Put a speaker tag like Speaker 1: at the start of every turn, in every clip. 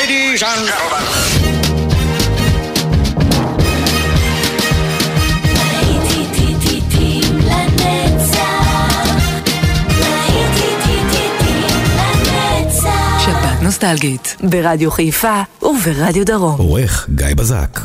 Speaker 1: Ladies and gentlemen.
Speaker 2: שבת נוסטלגית ברדיו חיפה וברדיו דרום.
Speaker 3: עורך גיא בזק.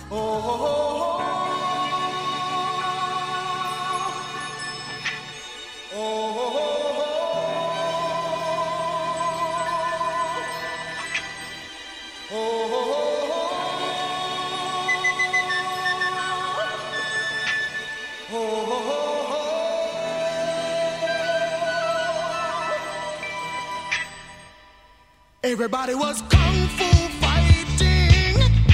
Speaker 1: Everybody was kung fu fighting.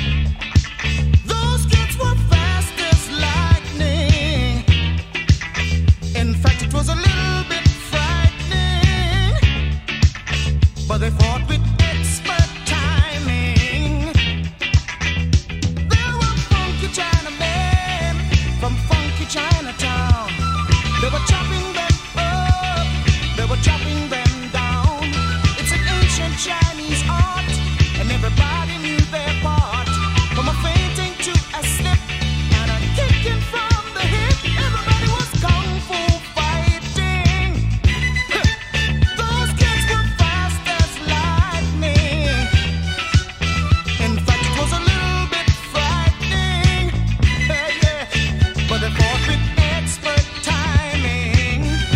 Speaker 1: Those kids were fast as lightning. In fact, it was a little bit frightening, but they fought with expert timing. There were funky Chinamen from funky Chinatown. They were chopping them up, they were chopping them down. It's an ancient Chinese art, and everybody knew their part. From a fainting to a slip and a kicking from the hip, everybody was kung fu fighting. Those kids were fast as lightning. In fact, it was a little bit frightening, yeah, but they fought with expert timing.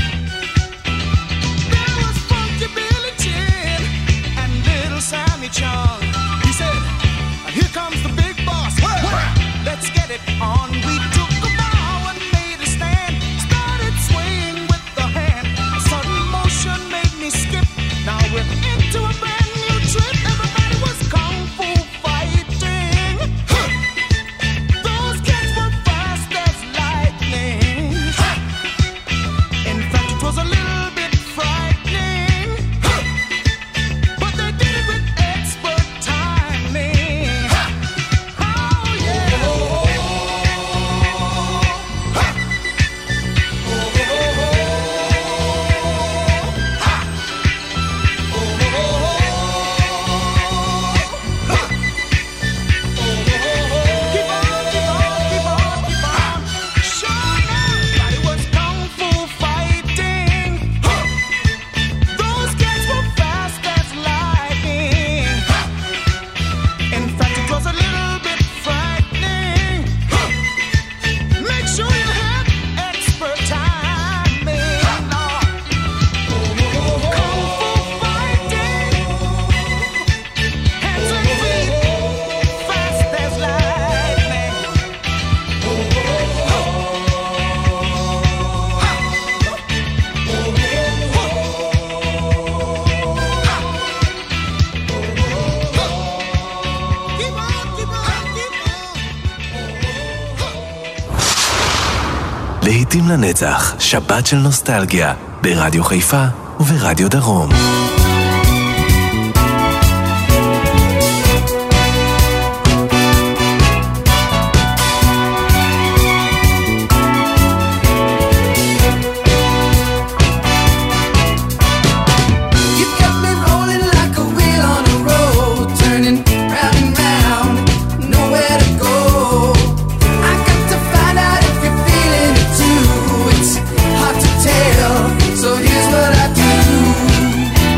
Speaker 1: There was funky Billy Chin and little Sammy Chung. He said, "Here comes the big boss. Let's get it on." We took a bow and made a stand. Started swaying with the hand. A sudden motion made me skip. Now we're into a brand new trip. Everybody was kung fu fighting. Those kids were fast as lightning. In fact, it was a little bit frightening, but they did it with expert timing. Oh yeah. Keep on, keep on, keep on, keep on. Sure, everybody was kung fu fighting. Those kids were fast as lightning. In fact, it was a little bit frightening. Make sure you had expert timing. Kung fu fighting. Hands and feet, fast as lightning. Keep on, keep on, keep on.
Speaker 3: להיטים לנצח, שבת של נוסטלגיה, ברדיו חיפה וברדיו דרום.
Speaker 4: You got me rolling like a wheel on a road, turning round and round, nowhere to go. I got to find out if you're feeling it too. It's hard to tell, so here's what I do.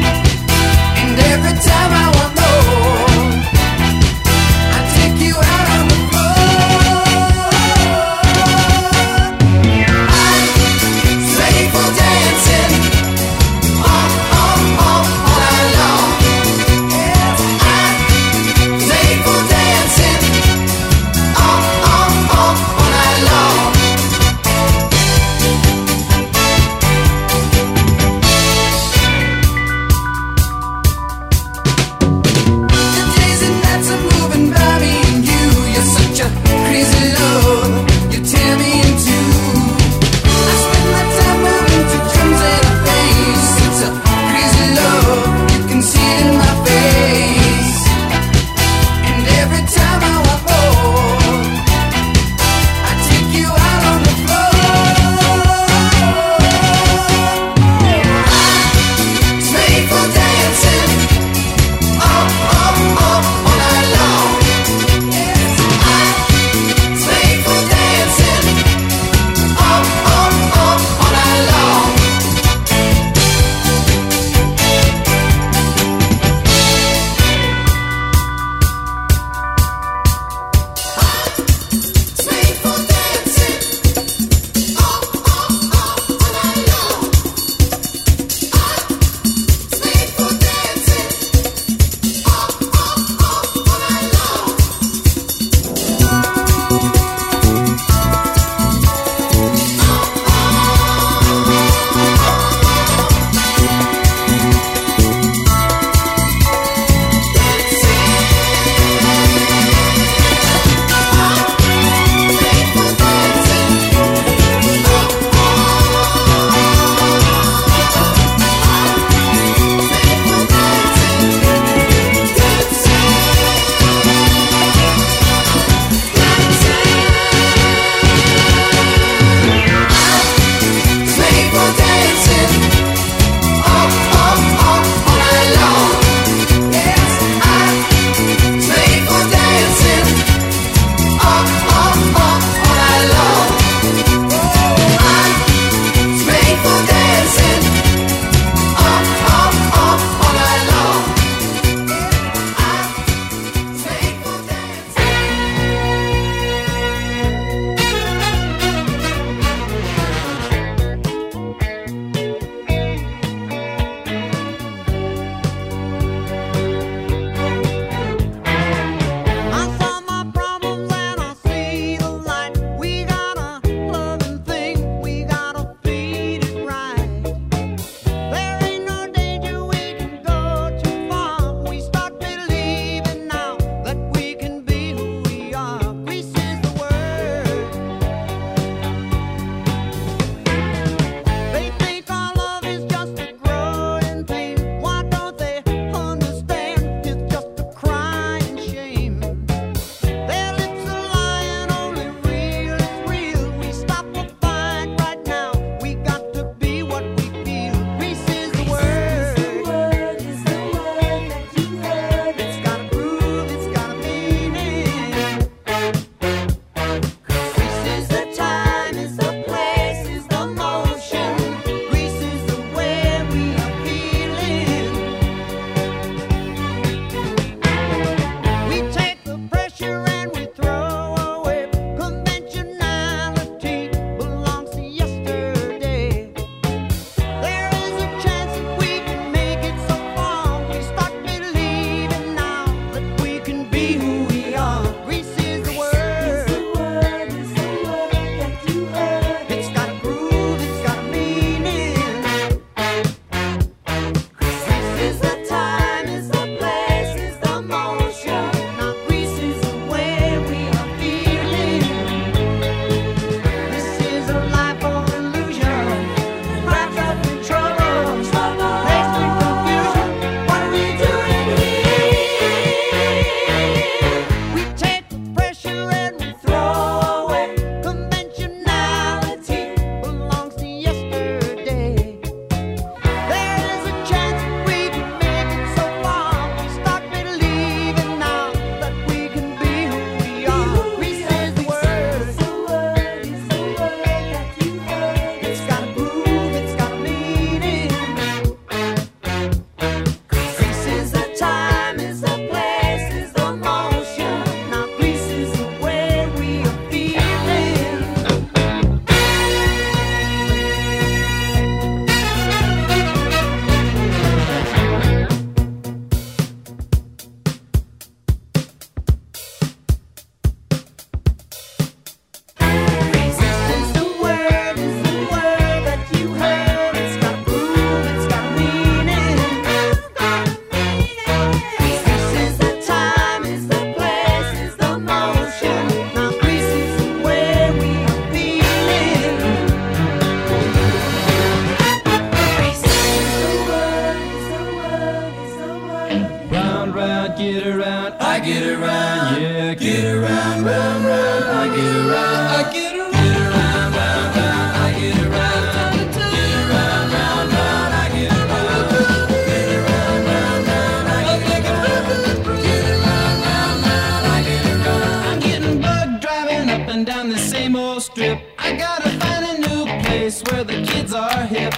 Speaker 4: yeah. Get around, round, round, I get around. I get around, round, round, I get around. Get around, round, round, I get around. Get around, round, round, I get around. Get around, round, round, I get around. I'm getting bugged driving up and down the same old strip. I gotta find a new place where the kids are hip.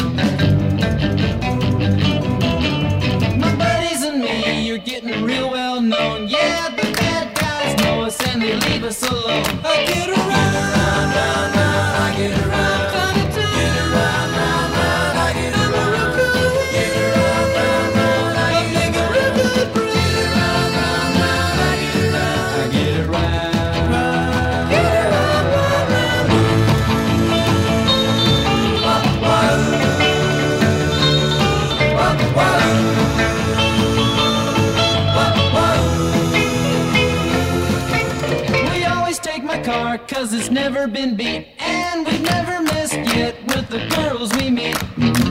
Speaker 4: My buddies and me, you're getting real well known. Yeah, the bad guys know us and they leave us alone. I get around, round, round, round, I get around. Get around, round, round, I get around. Get around, round, round, I get around. Get around, round, round, I get around. I get around, get around, round, round. We always take my car 'cause it's never been beat, and we've never missed yet with the girls we meet.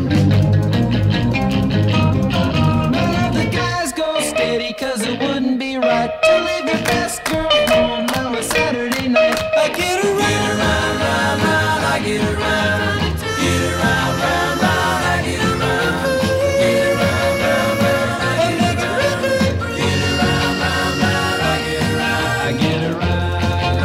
Speaker 4: None of the guys go steady 'cause it wouldn't be right to leave your best girl home on a Saturday night. I get around, round, round, round, I get around. Get around, round, round, I get around. Get around, round, round, I get around. Get around, round, round, I get around. I get around.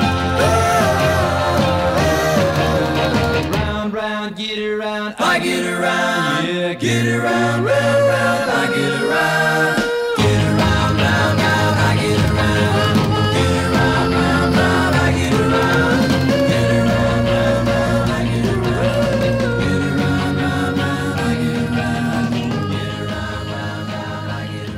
Speaker 4: Round, round, get around. I get around. Yeah, get around, round, round, I get around. Get around, round, round, I get around. Get around, round, round, I get around. Get around, round, round, I get around. Get around, round, round, I get around. Get around, round, round, I get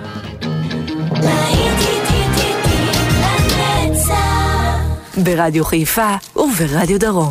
Speaker 4: around.
Speaker 2: ברדיו חיפה וברדיו דרום.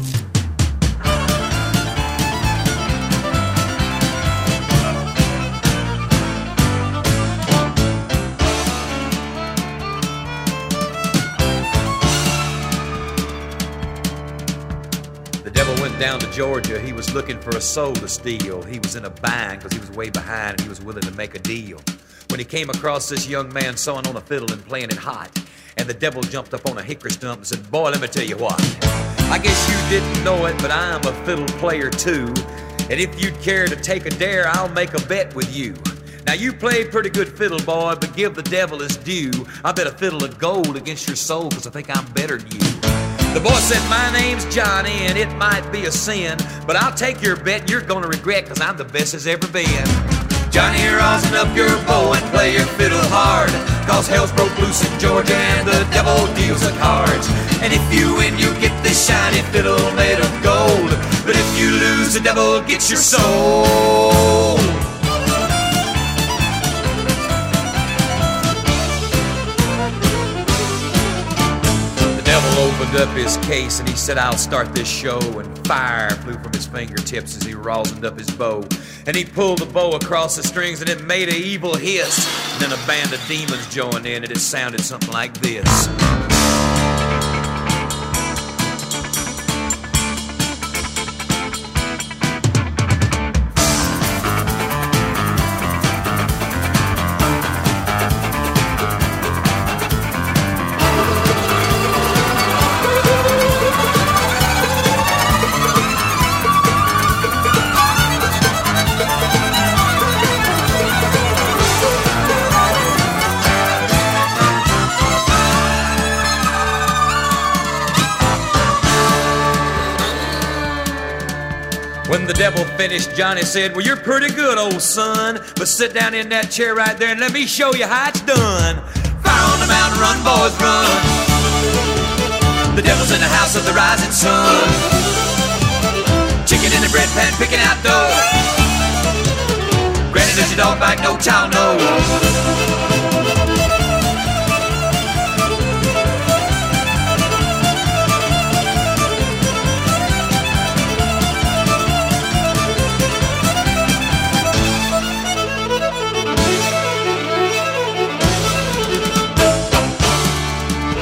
Speaker 5: The devil went down to Georgia. He was looking for a soul to steal. He was in a bind because he was way behind and he was willing to make a deal. When he came across this young man sewing on a fiddle and playing it hot, and the devil jumped up on a hickory stump and said, "Boy, let me tell you what. I guess you didn't know it, but I'm a fiddle player too. And if you'd care to take a dare, I'll make a bet with you. Now you played pretty good fiddle, boy, but give the devil his due. I bet a fiddle of gold against your soul because I think I'm better than you." The boy said, "My name's Johnny, and it might be a sin, but I'll take your bet you're gonna regret because I'm the best there's ever been. Johnny, rosin up your bow and play your fiddle hard, cause hell's broke loose in Georgia and the devil deals the cards. And if you win, you get this shiny fiddle made of gold, but if you lose, the devil gets your soul." Opened up his case and he said, "I'll start this show," and fire flew from his fingertips as he rosined up his bow. And he pulled the bow across the strings and it made an evil hiss. And then a band of demons joined in and it sounded something like this. When the devil finished, Johnny said, "Well, you're pretty good, old son, but sit down in that chair right there and let me show you how it's done. Fire on the mountain, run, boys, run. The devil's in the house of the rising sun. Chicken in the bread pan, picking out dough. Granny, does your dog bite? No child, no."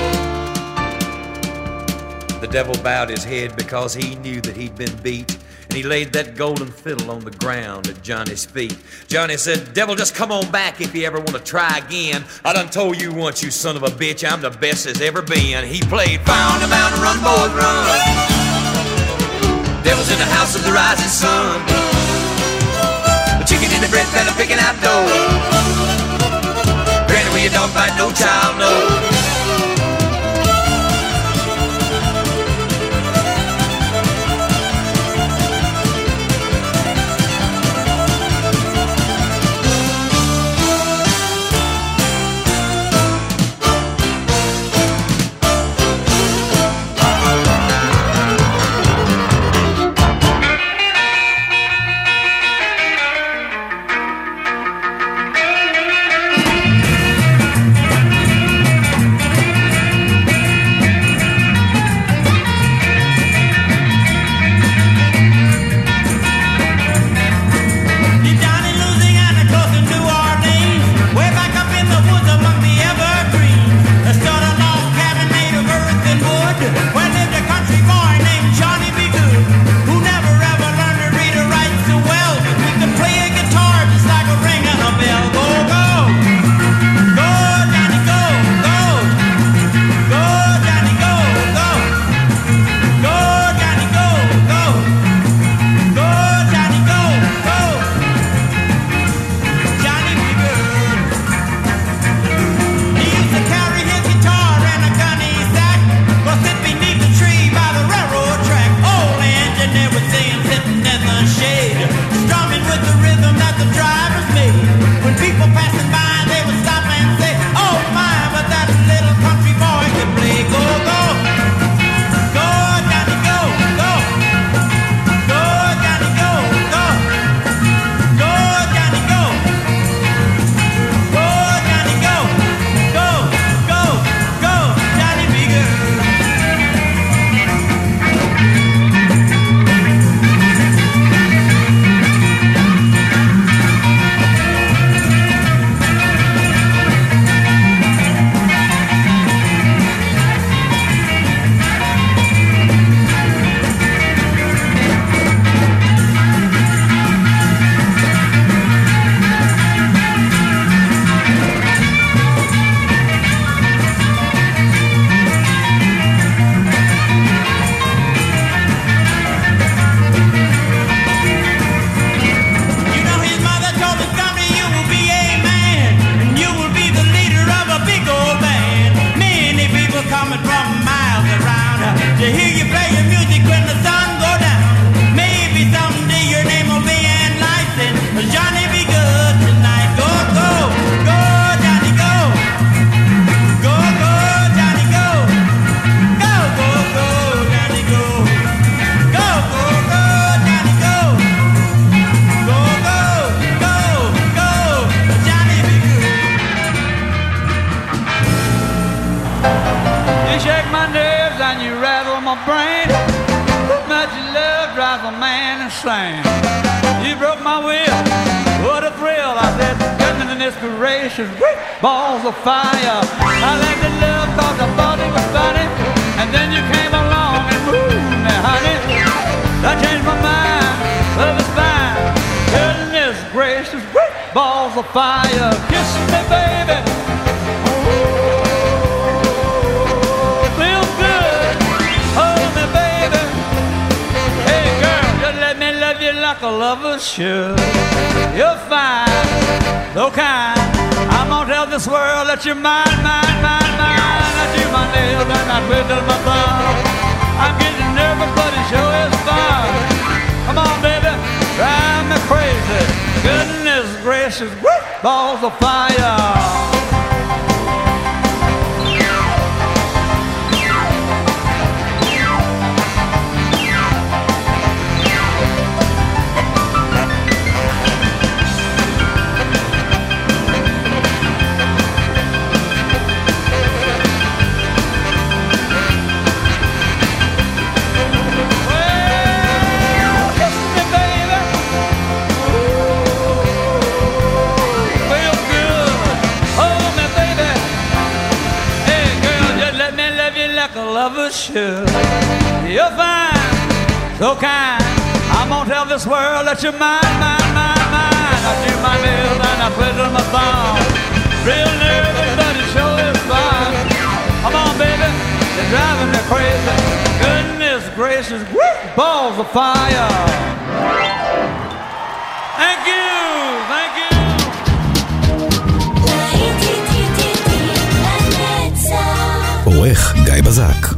Speaker 5: The devil bowed his head because he knew that he'd been beat, and he laid that golden fiddle on the ground at Johnny's feet. Johnny said, "Devil, just come on back if you ever want to try again. I done told you once, you son of a bitch, I'm the best there's ever been." He played "Found a Mountain, Run, Boys, Run." Devil's in the house of the rising sun. The chicken in the bread pan picking out dough. Granny, where your dog bite, no child knows.
Speaker 6: You broke my will, what a thrill. I said, goodness gracious, balls of fire. I let the love cause I thought it was funny. And then you came along and moved me, honey. That changed my mind, love is fine. Goodness gracious, balls of fire. Kiss me, baby. Like a lover should. You're fine, so kind. I'm gonna tell this world that you're mine, mine, mine, mine. I do my nails and I twiddle my thumb. I'm getting nervous, but it sure is fun. Come on, baby, drive me crazy. Goodness gracious, balls of fire. Lover should. You're fine, so kind. I'm gonna tell this world that you're mine, mine, mine, mine. I do my nails and I twiddle my thumb. Real nervous, but it sure is fun. Come on, baby, you're driving me crazy. Goodness gracious, woo, balls of fire. Thank you, thank you.
Speaker 7: עורך גיא בזק.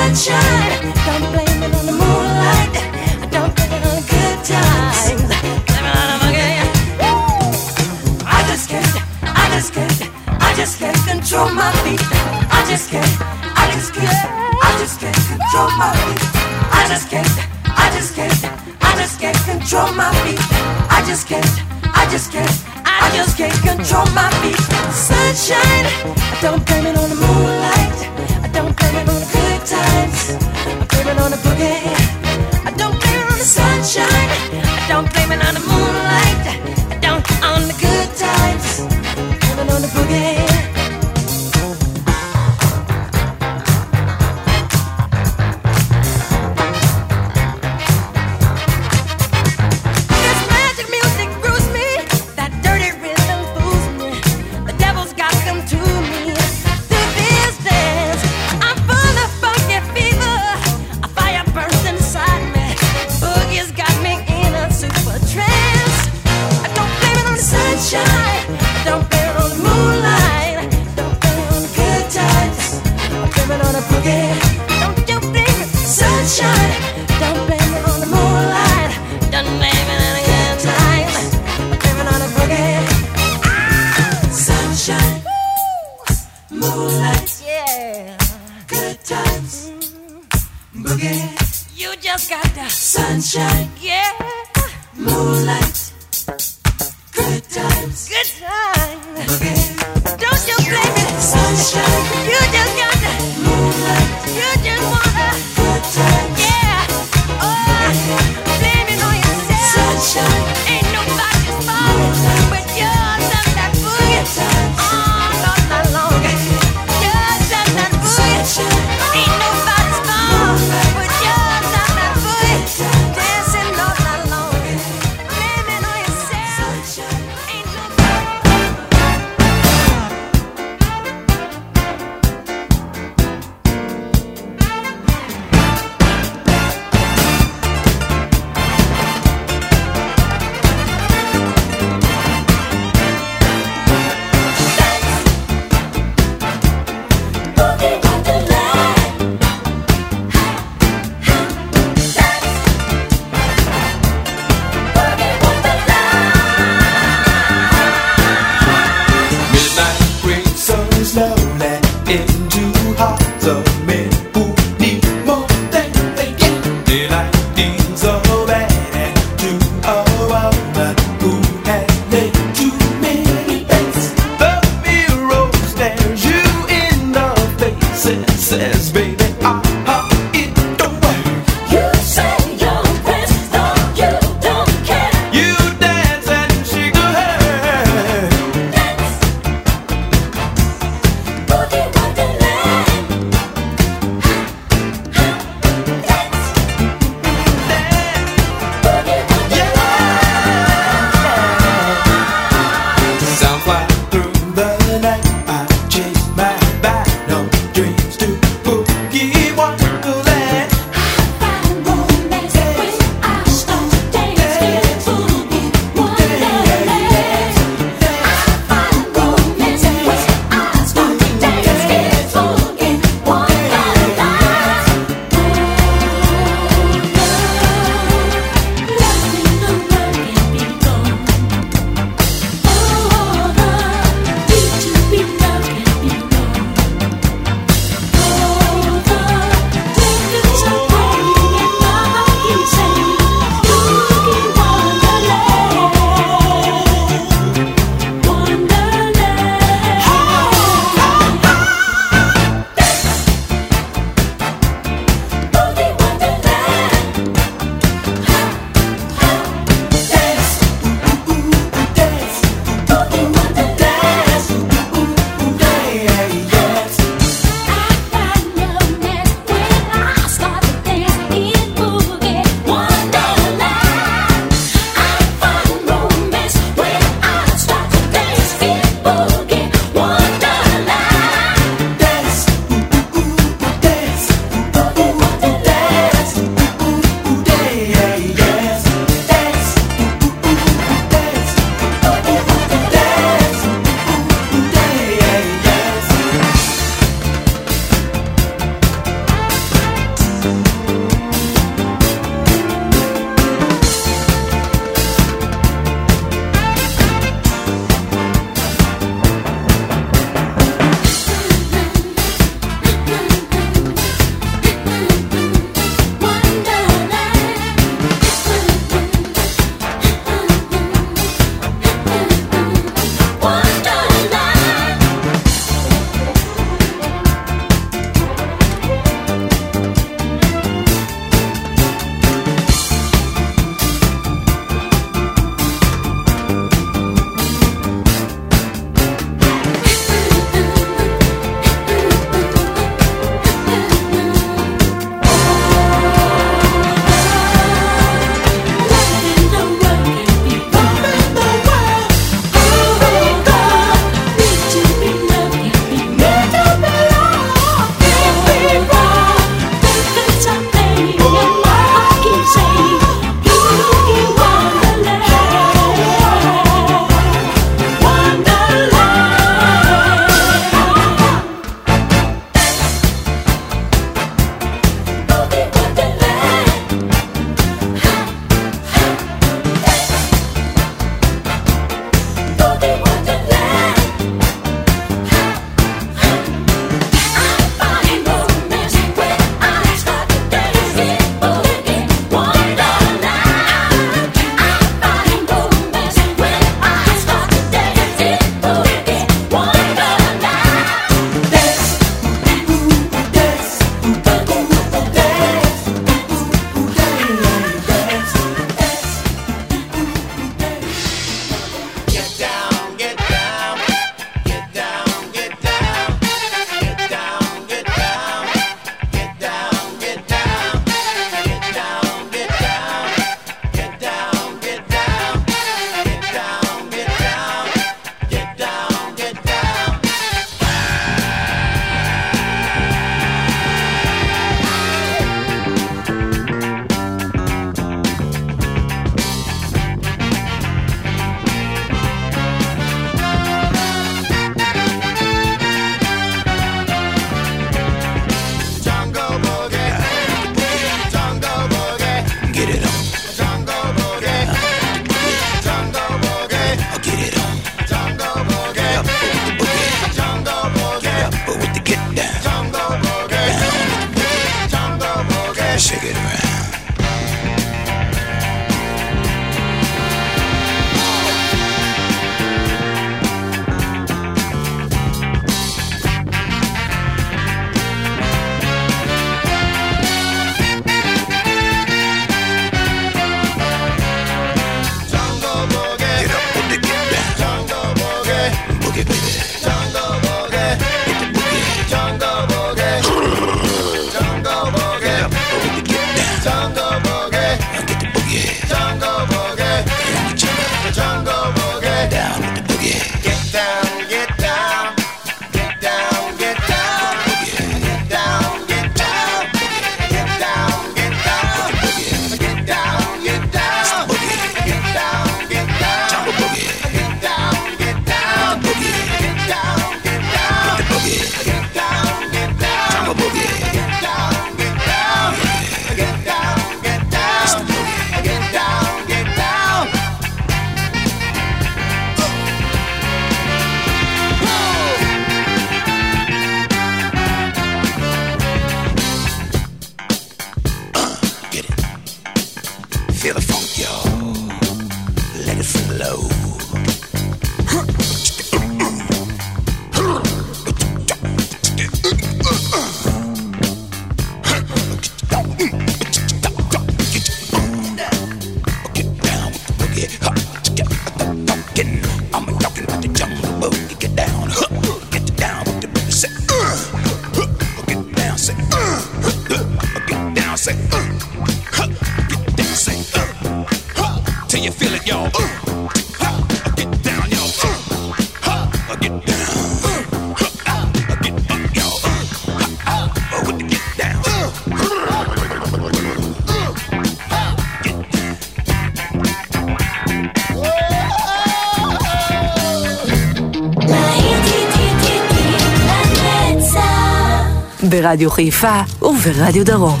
Speaker 2: ברדיו חיפה וברדיו דרום.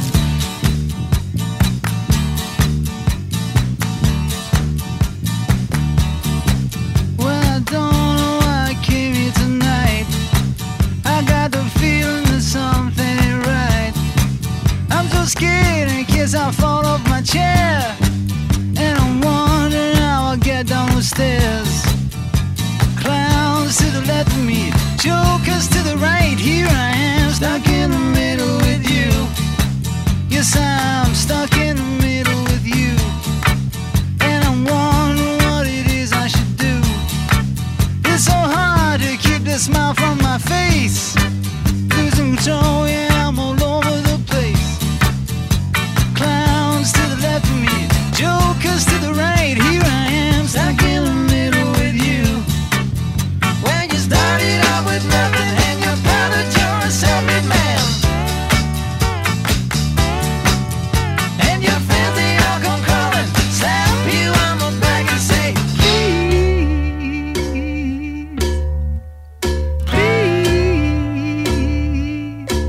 Speaker 7: I fall off my chair, and I'm wondering how I'll get down the stairs. Clowns to the left of me, jokers to the right. Here I am, stuck in the middle with you. Yes, I'm stuck in the middle with you, and I'm wondering what it is I should do. It's so hard to keep the smile from my face. Losing control, yeah, I'm all over the place. Clowns to the left of me, jokers to the right. Here I am, stuck in the middle with you. When you started out with nothing and you found that you're a self-made man, and your friends they all come crawling, slap you on the back and say, please, please.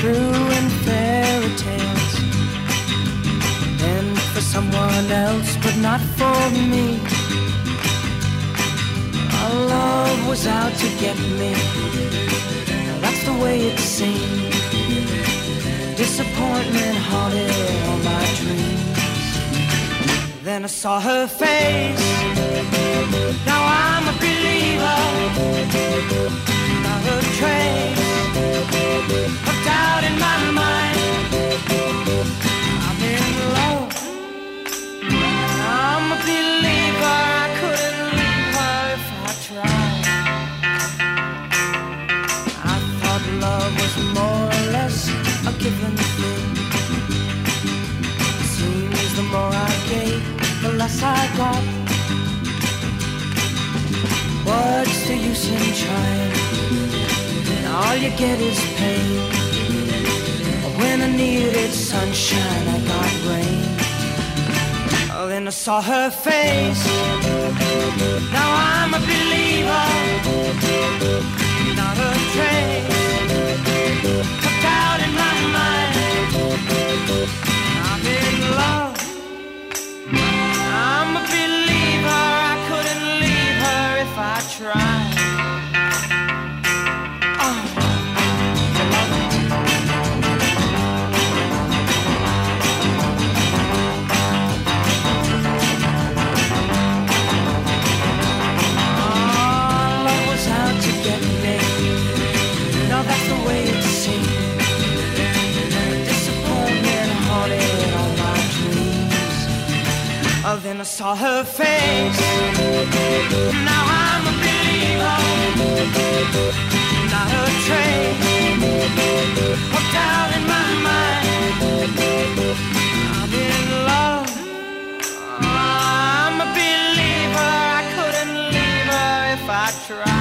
Speaker 8: true in fairy tales, and for someone else, but not for me. Our love was out to get me. That's the way it seemed. Disappointment haunted all my dreams. Then I saw her face. Now I'm a believer. Not a trace of doubt in my mind. I'm in love. I'm a believer. I couldn't leave her if I tried. I thought love was more or less a given thing. Seems the more I gave, the less I got. What's the use in trying? All you get is pain. When I needed sunshine, I got rain. Oh, then I saw her face. Now I'm a believer. Not a trace of doubt in my mind. I'm in love. I'm a believer. I couldn't leave her if I tried. That's the way it seemed. Disappointment haunted all my dreams. Oh, then I saw her face. Now I'm a believer. Not a trace of doubt in my mind. I'm in love. I'm a believer. I couldn't leave her if I tried.